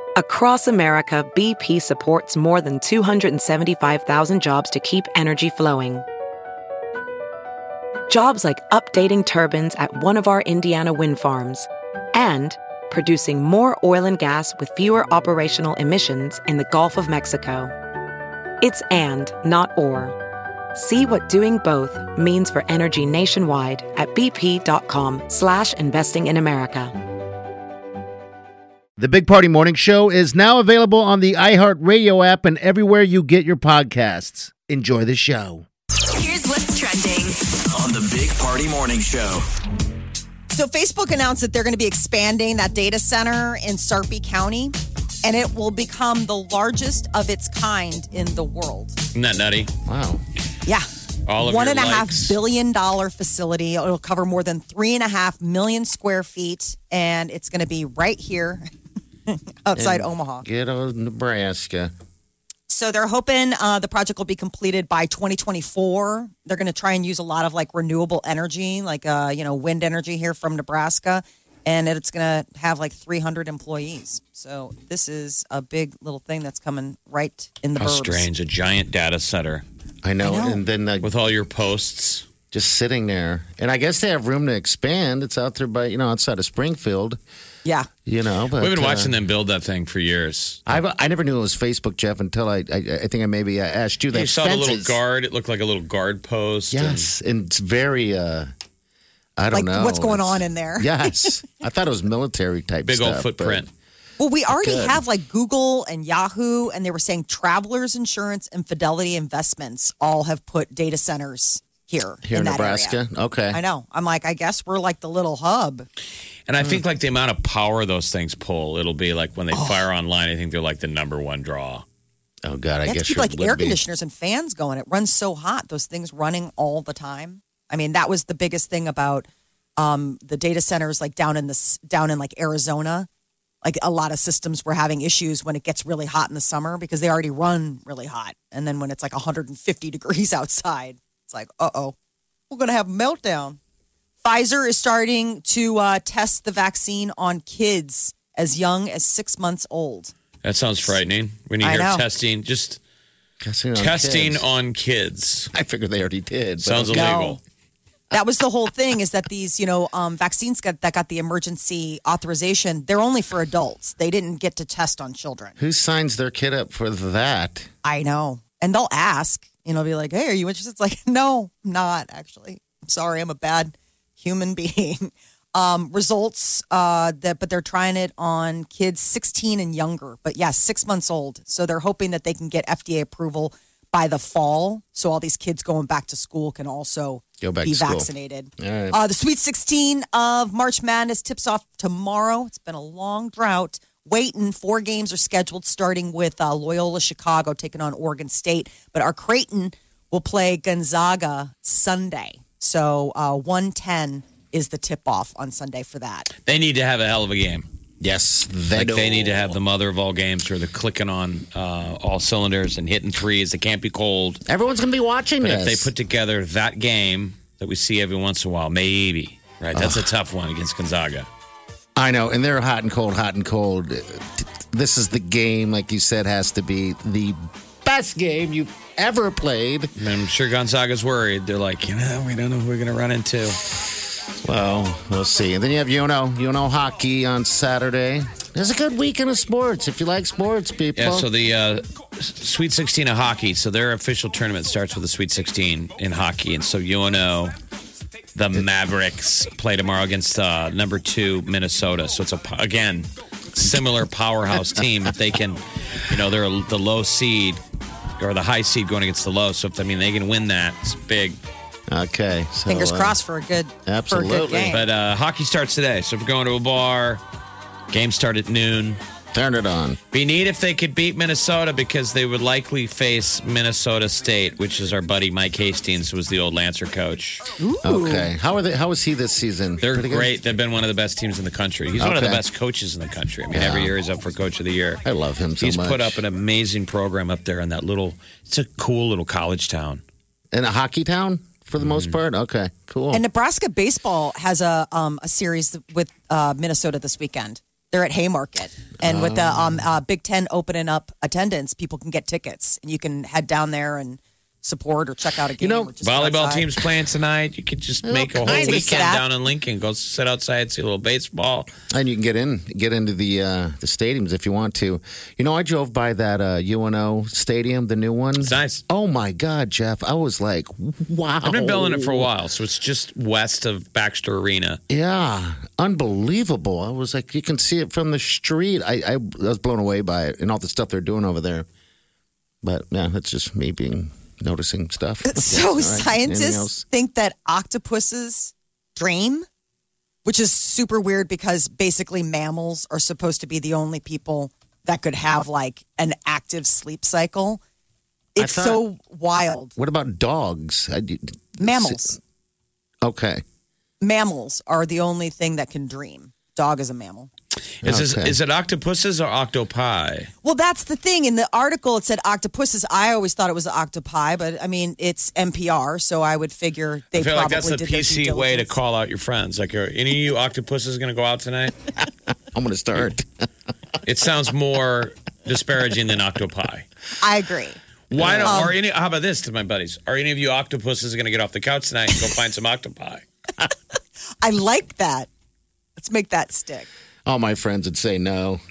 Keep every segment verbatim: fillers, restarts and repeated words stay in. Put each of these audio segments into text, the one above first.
Across America, B P supports more than two hundred seventy-five thousand jobs to keep energy flowing. Jobs like updating turbines at one of our Indiana wind farms and producing more oil and gas with fewer operational emissions in the Gulf of Mexico. It's and, not or. See what doing both means for energy nationwide at bp.com slash investing in America. The Big Party Morning Show is now available on the iHeartRadio app and everywhere you get your podcasts. Enjoy the show. Here's what's trending on the Big Party Morning Show. So Facebook announced that they're going to be expanding that data center in Sarpy County, and it will become the largest of its kind in the world. Isn't that nutty? Wow. Yeah. All of One your and a half likes. billion dollar facility. It'll cover more than three and a half million square feet, and it's going to be right here outside In Omaha. Ghetto, Nebraska. So they're hoping uh, the project will be completed by twenty twenty-four. They're going to try and use a lot of like renewable energy, like uh, you know, wind energy here from Nebraska, and it's going to have like three hundred employees. So this is a big little thing that's coming right in the How burbs. strange. A giant data center I know. I know. And then uh, with all your posts. just sitting there. And I guess they have room to expand. It's out there by, you know, outside of Springfield, Yeah. you know. But, We've been uh, watching them build that thing for years. I've, I never knew it was Facebook, Jeff, until I I, I think I maybe asked you that. You saw the little fences. guard. It looked like a little guard post. and- Yes. And it's very, uh, I don't Like know. what's going It's- on in there. Yes. I thought it was military type Big stuff. old footprint. Well, we already Good. have like Google and Yahoo, and they were saying Travelers Insurance and Fidelity Investments all have put data centers here, Here in in that Nebraska? area. Okay. I know. I'm like, I guess we're like the little hub. And I think like the amount of power those things pull, it'll be like when they fire online, I think they're like the number one draw. Oh, God. I You have to guess keep you like would air be. conditioners and fans going. It runs so hot. Those things running all the time. I mean, that was the biggest thing about um, the data centers, like down in the s- down in like Arizona. Like a lot of systems were having issues when it gets really hot in the summer because they already run really hot, and then when it's like one hundred fifty degrees outside, it's like, uh oh, we're gonna have a meltdown. Pfizer is starting to uh, test the vaccine on kids as young as six months old. That sounds frightening. When you I hear know. testing, just Testing on testing kids. on kids. I figured they already did. but Sounds okay. illegal. That was the whole thing, is that these, you know, um, vaccines got, that got the emergency authorization, they're only for adults. They didn't get to test on children. Who signs their kid up for that? I know. And they'll ask, you know, be like, hey, are you interested? It's like, no, I'm not actually. I'm sorry, I'm a bad human being. Um, results, uh, that, but they're trying it on kids sixteen and younger. But yes, six months old. So they're hoping that they can get F D A approval by the fall. So all these kids going back to school can also Go back be to school. vaccinated. All right. Uh, the Sweet sixteen of March Madness tips off tomorrow. It's been a long drought. Waiting, four games are scheduled, starting with uh, Loyola Chicago taking on Oregon State. But our Creighton will play Gonzaga Sunday. So uh, one ten is the tip-off on Sunday for that. They need to have a hell of a game. Yes, they Like do. they need to have the mother of all games where they're clicking on uh, all cylinders and hitting threes. It can't be cold. Everyone's going to be watching But this. if they put together that game that we see every once in a while, maybe. Right? That's a tough one against Gonzaga. I know, and they're hot and cold, hot and cold. This is the game, like you said, has to be the best game you've ever played. And I'm sure Gonzaga's worried. They're like, you know, we don't know who we're going to run into. Well, we'll see. And then you have Uno, Uno hockey on Saturday. It's a good weekend of sports if you like sports, people. Yeah, so the uh, Sweet sixteen of hockey, so their official tournament starts with the Sweet sixteen in hockey. And so U N O, the Mavericks, play tomorrow against uh, number two, Minnesota. So it's, a again, similar powerhouse team. If they can, you know, they're the low seed or the high seed going against the low. So, if I mean, they can win that, it's big. Okay. So, Fingers uh, crossed for a good, for a good absolutely. game. But uh, hockey starts today. So if you're going to a bar, game start at noon. Turn it on. Be neat if they could beat Minnesota because they would likely face Minnesota State, which is our buddy Mike Hastings, who was the old Lancer coach. Okay. How are they? How is he this season? They're Pretty good? great. They've been one of the best teams in the country. He's one of the Okay. best coaches in the country. I mean, Yeah. every year he's up for Coach of the Year. I love him so He's much. put up an amazing program up there in that little, it's a cool little college town. In a hockey town for the most part? Okay, cool. And Nebraska baseball has a um, a series with uh, Minnesota this weekend. They're at Haymarket. And with the um, uh, Big Ten opening up attendance, people can get tickets. And you can head down there and support or check out a game. You know, or just Volleyball outside. team's playing tonight. You could just make a whole kinds of weekend that. down in Lincoln. Go sit outside, see a little baseball. And you can get in, get into the uh, the stadiums if you want to. You know, I drove by that uh, U N O stadium, the new one. It's nice. Oh my God, Jeff! I was like, wow. I've been building it for a while, so it's just west of Baxter Arena. Yeah, unbelievable. I was like, you can see it from the street. I, I, I was blown away by it and all the stuff they're doing over there. But yeah, that's just me being noticing stuff. So All right. Anything scientists else? think that octopuses dream, which is super weird because basically mammals are supposed to be the only people that could have like an active sleep cycle. I It's thought- so wild. What about dogs? I, Mammals. Okay. Mammals are the only thing that can dream. Dog is a mammal. Is, this, Okay. is it octopuses or octopi? Well, that's the thing. In the article, it said octopuses. I always thought it was octopi, but I mean, it's N P R, so I would figure they I feel probably like that's the did their P C due way to diligence. call out your friends. Like, are any of you octopuses going to go out tonight? I'm going to start. It sounds more disparaging than octopi. I agree. Why don't? Um, are any? How about this to my buddies? Are any of you octopuses going to get off the couch tonight and go find some octopi? I like that. Let's make that stick. All my friends would say no.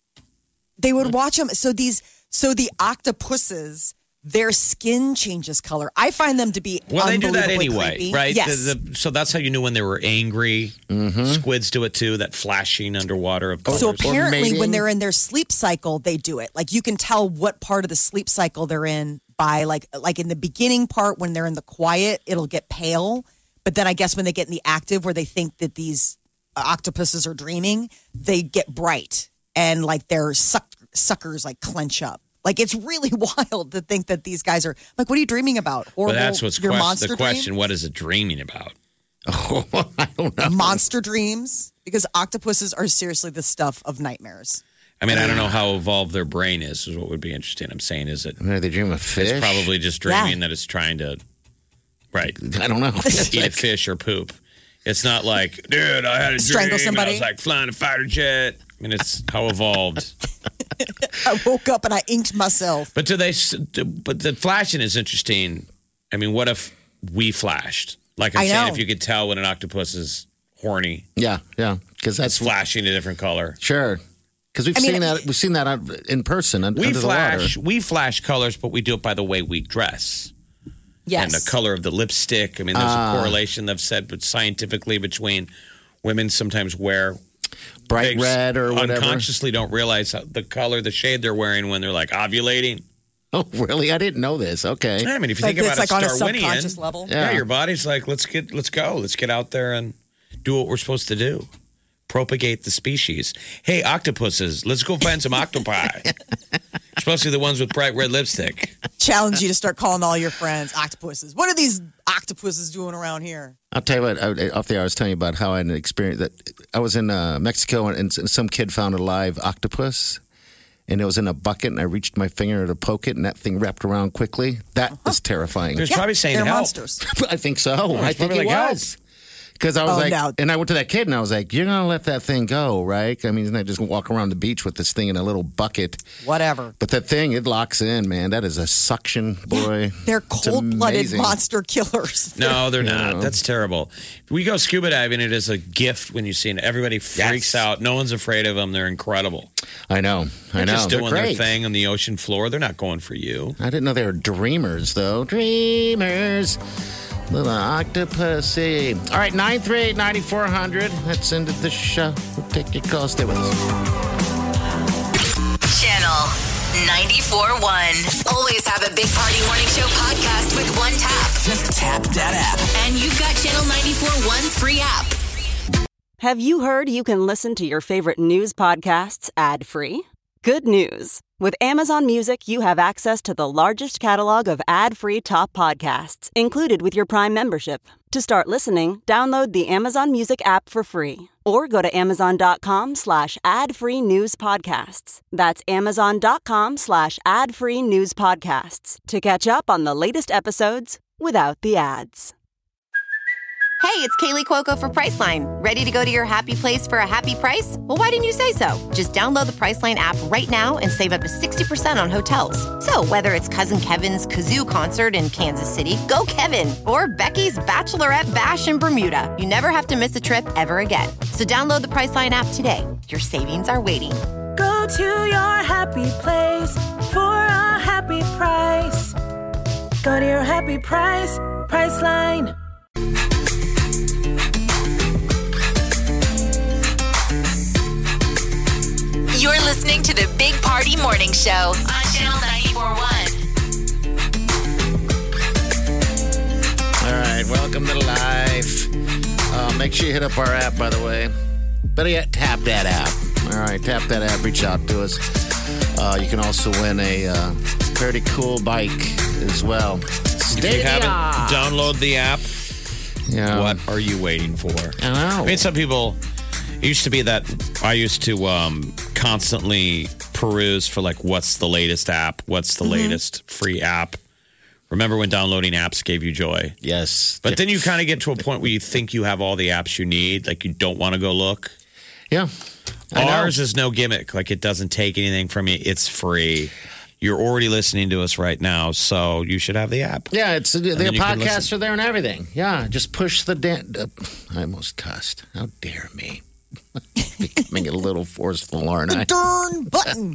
They would watch them. So these, so the octopuses, their skin changes color. I find them to be Well, they do that unbelievably anyway, creepy. right? Yes. The- the- so that's how you knew when they were angry. Squids do it too. That flashing underwater of colors. So apparently, mating. when they're in their sleep cycle, they do it. Like you can tell what part of the sleep cycle they're in by like like in the beginning part when they're in the quiet, it'll get pale. But then I guess when they get in the active, where they think that these octopuses are dreaming, they get bright and like their suck, suckers like clench up. Like it's really wild to think that these guys are like, what are you dreaming about? But Horrible. that's what's your quest- monster the question. dream? What is it dreaming about? Oh, I don't know. Monster dreams, because octopuses are seriously the stuff of nightmares. I mean, I don't know how evolved their brain is. Is what would be interesting. I'm saying, is it? I mean, are they dreaming of fish? It's probably just dreaming that it's trying to, right, I don't know. eat a fish or poop. It's not like, dude, I had a Strangle dream and I somebody? was like flying a fighter jet. I mean, it's how evolved. I woke up and I inked myself. But do they? But the flashing is interesting. I mean, what if we flashed? Like I'm I saying, know. if you could tell when an octopus is horny, Yeah, yeah. Because it's that's flashing a different color. sure. Because we've I mean, seen that. We've seen that out in person un- We under flash, the water. we flash colors, but we do it by the way we dress. Yes. And the color of the lipstick. I mean, there's Ah. a correlation they've said, but scientifically between women sometimes wear Bright they red or whatever. unconsciously don't realize how, the color, the shade they're wearing when they're like ovulating. Oh, really? I didn't know this. Okay. I mean, if you Like, think about it's like on a a subconscious Darwinian, level. yeah. Yeah. your body's like, let's get, let's go, let's get out there and do what we're supposed to do, propagate the species. Hey, octopuses, let's go find some octopi, especially the ones with bright red lipstick. Challenge you to start calling all your friends octopuses. What are these octopuses doing around here? I'll tell you what. I, off the air, I was telling you about how I had an experience that I was in uh, Mexico and, and some kid found a live octopus, and it was in a bucket, and I reached my finger to poke it, and that thing wrapped around quickly. That was terrifying. There's probably saying they're help. monsters. I think so. I think probably it like, help. was. Because I was Oh, like, no. and I went to that kid and I was like, you're going to let that thing go, right? I mean, he's not just going to walk around the beach with this thing in a little bucket. Whatever. But that thing, it locks in, man. That is a suction, boy. They're It's cold-blooded amazing. monster killers. No, they're not. Yeah. That's terrible. We go scuba diving. It is a gift when you see it. Everybody freaks Yes. out. No one's afraid of them. They're incredible. I know. I They're know. just They're doing their great. thing on the ocean floor. They're not going for you. I didn't know they were dreamers, though. Dreamers. Little octopusy. All right, nine three eight, nine four hundred. Let's end the show. We'll take your calls. Stay with us. Channel ninety-four point one. Always have a Big Party Morning Show podcast with one tap. Just tap that app. And you've got Channel ninety-four point one's free app. Have you heard you can listen to your favorite news podcasts ad-free? Good news. With Amazon Music, you have access to the largest catalog of ad-free top podcasts included with your Prime membership. To start listening, download the Amazon Music app for free or go to amazon.com slash ad-free news podcasts. That's amazon.com slash ad-free news podcasts to catch up on the latest episodes without the ads. Hey, it's Kaylee Cuoco for Priceline. Ready to go to your happy place for a happy price? Well, why didn't you say so? Just download the Priceline app right now and save up to sixty percent on hotels. So whether it's Cousin Kevin's Kazoo Concert in Kansas City, go Kevin, or Becky's Bachelorette Bash in Bermuda, you never have to miss a trip ever again. So download the Priceline app today. Your savings are waiting. Go to your happy place for a happy price. Go to your happy price, Priceline. You're listening to the Big Party Morning Show on Channel ninety-four point one. All right, welcome to life. Uh, make sure you hit up our app, by the way. Better yet, tap that app. All right, tap that app. Reach out to us. Uh, you can also win a uh, pretty cool bike as well. If you haven't, download the app. Yeah. What are you waiting for? I know. I mean, some people, it used to be that I used to um, constantly peruse for like, what's the latest app? What's the mm-hmm. latest free app? Remember when downloading apps gave you joy? Yes. But then you kind of get to a point where you think you have all the apps you need. Like you don't want to go look. Yeah. Ours is no gimmick. Like it doesn't take anything from you. It's free. You're already listening to us right now, so you should have the app. Yeah, it's the, the podcasts are there and everything. Yeah, just push the... Dan- uh, I almost cussed. How dare me. Becoming a little forceful, aren't I? Darn button.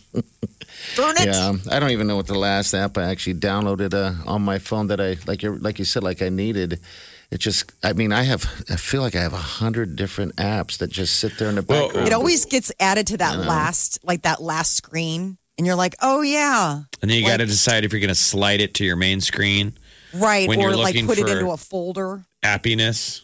Darn it. Yeah, I don't even know what the last app I actually downloaded uh, on my phone that I, like you like you said, like I needed. It just, I mean, I have, I feel like I have a hundred different apps that just sit there in the background. Well, it always gets added to that last, like that last screen. And you're like, oh, yeah. And then you like, got to decide if you're going to slide it to your main screen. Right. When or you're like put it for into a folder. Appiness.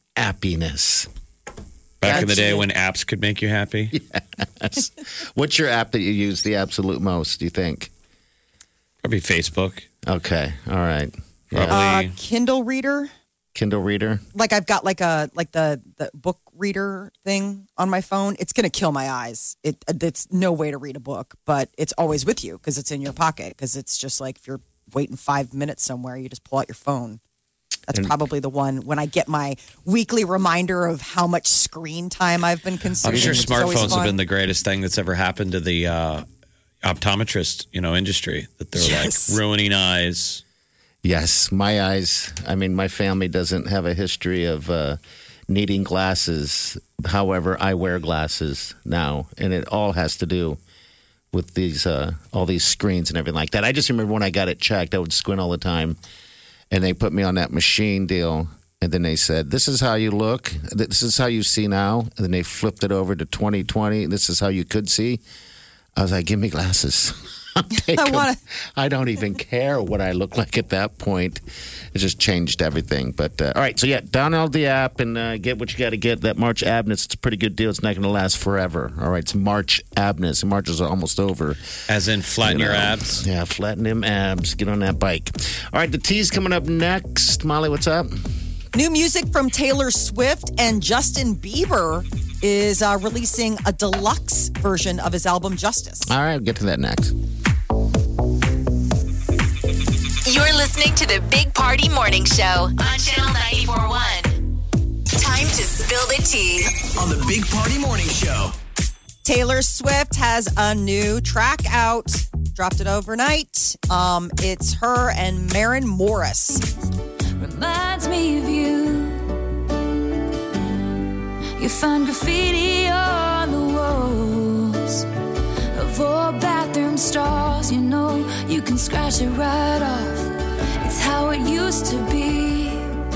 Appiness. Back That's in the day it. when apps could make you happy. Yes. What's your app that you use the absolute most, do you think? Probably Facebook. Okay. All right. Probably. Uh, Kindle reader. Kindle reader. Like I've got like a like the, the book reader thing on my phone. It's going to kill my eyes. It It's no way to read a book, but it's always with you because it's in your pocket. Because it's just like if you're waiting five minutes somewhere, you just pull out your phone. That's And- probably the one when I get my weekly reminder of how much screen time I've been consuming. I'm sure It's always smartphones have fun. been the greatest thing that's ever happened to the uh, optometrist, you know, industry. That they're Yes. like ruining eyes. Yes, my eyes. I mean, my family doesn't have a history of uh, needing glasses. However, I wear glasses now, and it all has to do with these uh, all these screens and everything like that. I just remember when I got it checked, I would squint all the time, and they put me on that machine deal, and then they said, "This is how you look. This is how you see now." And then they flipped it over to twenty twenty. This is how you could see. I was like, "Give me glasses." Take I 'em. wanna- I don't even care what I look like at that point. It just changed everything. But uh, all right, so yeah, download the app and uh, get what you got to get. That March Abness, it's a pretty good deal. It's not going to last forever. All right, it's March Abness. March is almost over. As in flatten You your know. abs. Yeah, flatten them abs. Get on that bike. All right, the tea's coming up next. Molly, what's up? New music from Taylor Swift and Justin Bieber is uh, releasing a deluxe version of his album Justice. All right, we'll get to that next. You're listening to the Big Party Morning Show on Channel ninety-four point one. Time to spill the tea. On the Big Party Morning Show. Taylor Swift has a new track out. Dropped it overnight. Um, it's her and Maren Morris. Reminds me of you. You find graffiti on the walls of old bathroom stalls. You know you can scratch it right off. It's how it used to be.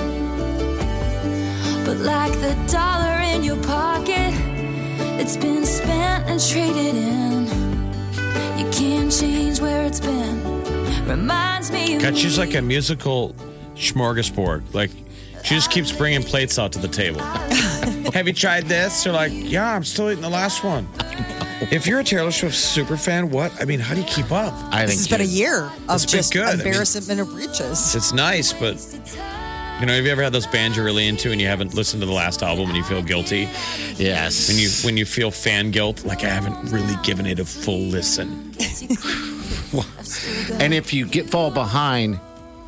But like the dollar in your pocket, it's been spent and traded in. You can't change where it's been. Reminds me of God, she's me. like a musical smorgasbord. Like, she just keeps bringing plates out to the table. Have you tried this? They're like, yeah, I'm still eating the last one. If you're a Taylor Swift super fan, what? I mean, how do you keep up? I This has think been a you- year of It's been just good. I mean- embarrassment of riches. It's nice, but you know, have you ever had those bands you're really into and you haven't listened to the last album and you feel guilty? Yes. When you when you feel fan guilt, like I haven't really given it a full listen. And if you get fall behind,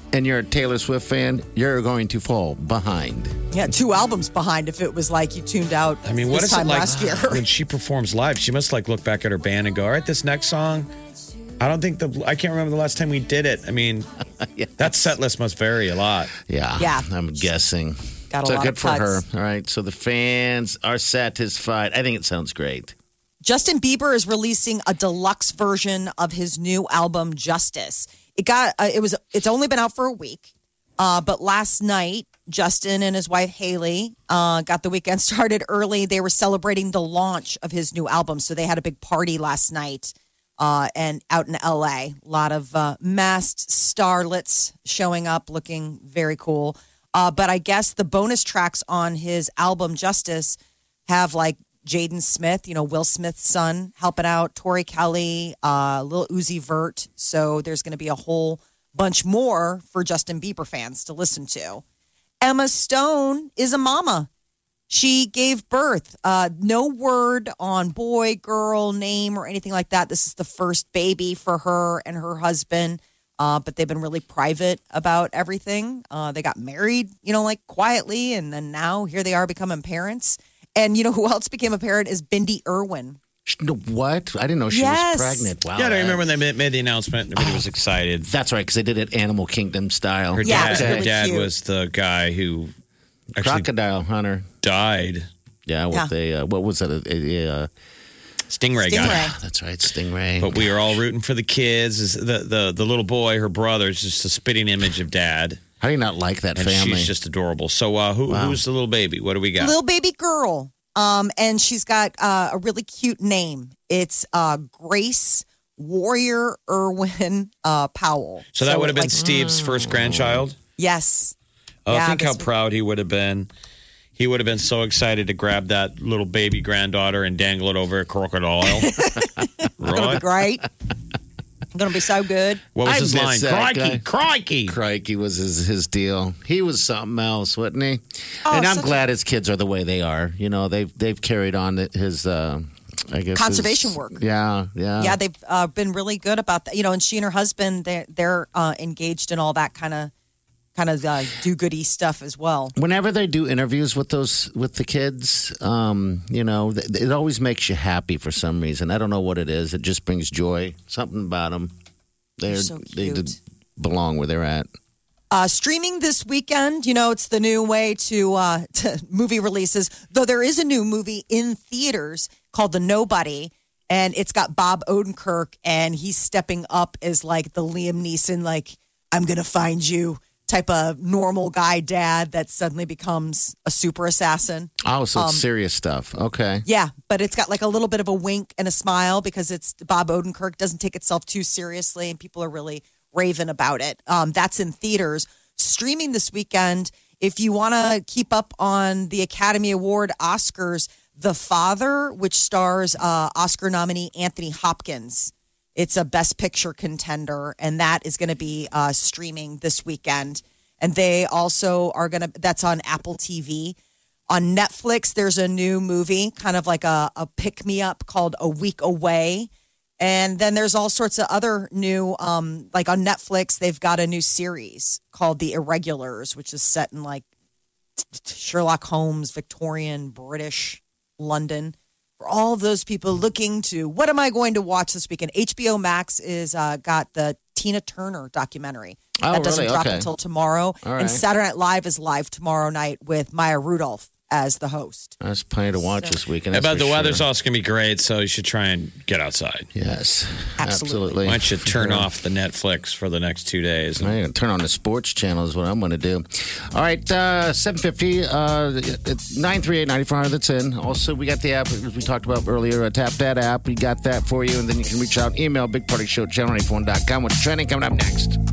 and you're a Taylor Swift fan, you're going to fall behind. Yeah, two albums behind if it was like you tuned out I mean, what this is time it like last year. when she performs live? She must like look back at her band and go, all right, this next song, I don't think the, I can't remember the last time we did it. I mean, Yeah. that set list must vary a lot. Yeah. Yeah. I'm guessing. Got a so lot good of for her. cuts. All right. So the fans are satisfied. I think it sounds great. Justin Bieber is releasing a deluxe version of his new album Justice. It got uh, it was it's only been out for a week, uh, but last night Justin and his wife Haley uh, got the weekend started early. They were celebrating the launch of his new album, so they had a big party last night uh, and out in L A. A lot of uh, masked starlets showing up, looking very cool. Uh, but I guess the bonus tracks on his album Justice have like Jaden Smith, you know, Will Smith's son, helping out, Tori Kelly, uh, Lil Uzi Vert. So there's going to be a whole bunch more for Justin Bieber fans to listen to. Emma Stone is a mama. She gave birth. Uh, no word on boy, girl, name, or anything like that. This is the first baby for her and her husband. Uh, but they've been really private about everything. Uh, they got married, you know, like quietly. And then now here they are becoming parents. And you know who else became a parent is Bindi Irwin. What? I didn't know she Yes. was pregnant. Wow. Yeah, I remember when they made, made the announcement. Everybody was excited. That's right, because they did it Animal Kingdom style. Her Yeah, it dad, was her really dad cute. was the guy who actually Crocodile Hunter. died. Yeah, with Yeah. a, uh, what was it? A, a, a, uh, Stingray, guy. Stingray. that's right, Stingray. But we are all rooting for the kids. Is the, the the little boy, her brother, is just a spitting image of dad. How do you not like that And family? she's just adorable. So uh, who Wow. who's the little baby? What do we got? Little baby girl. Um, and she's got uh, a really cute name. It's uh, Grace Warrior Irwin uh, Powell. so that would have been like, Steve's first grandchild. yes. Oh, Yeah, think how this- proud he would have been. He would have been so excited to grab that little baby granddaughter and dangle it over a crocodile. Gonna be right? great. Gonna be so good. What was I his miss line? that Crikey, guy. crikey. Crikey was his, his deal. He was something else, wasn't he? Oh, and I'm such glad his kids are the way they are. You know, they've they've carried on his, uh, I guess, Conservation his- work. Yeah, yeah, Yeah, they've uh, been really good about that. You know, and she and her husband, they're, they're uh, engaged in all that kind of kind of uh, do-goody stuff as well. Whenever they do interviews with those with the kids, um, you know, th- it always makes you happy for some reason. I don't know what it is. It just brings joy. Something about them. They're, They're so they cute. did belong where they're at. Uh, streaming this weekend, you know, it's the new way to, uh, to movie releases, though there is a new movie in theaters called The Nobody, and it's got Bob Odenkirk, and he's stepping up as like the Liam Neeson, like, I'm going to find you type of normal guy dad that suddenly becomes a super assassin. Oh, so Um, it's serious stuff. Okay. Yeah, but it's got like a little bit of a wink and a smile because it's Bob Odenkirk doesn't take itself too seriously, and people are really raving about it. Um, that's in theaters. Streaming this weekend. If you want to keep up on the Academy Award Oscars, The Father, which stars uh, Oscar nominee Anthony Hopkins. It's a Best Picture contender, and that is going to be uh, streaming this weekend. And they also are going to, that's on Apple T V. On Netflix, there's a new movie, kind of like a, a pick-me-up called A Week Away. And then there's all sorts of other new, um, like on Netflix, they've got a new series called The Irregulars, which is set in like Sherlock Holmes, Victorian, British, London. For all of those people looking to, what am I going to watch this weekend? H B O Max is uh, got the Tina Turner documentary. Oh, that doesn't really? drop Okay. until tomorrow. All right. And Saturday Night Live is live tomorrow night with Maya Rudolph as the host. There's plenty to watch this weekend. How that's about for the weather's sure. also going to be great, so you should try and get outside. Yes, Absolutely. absolutely. Why don't you turn off the Netflix for the next two days? I'm going to turn on the sports channel is what I'm going to do. All right, uh, seven fifty, uh, nine three eight, nine four hundred, that's in. Also, we got the app, as we talked about earlier, uh, Tap That app. We got that for you, and then you can reach out, email big party show channel ninety-four one dot com. What's trending coming up next?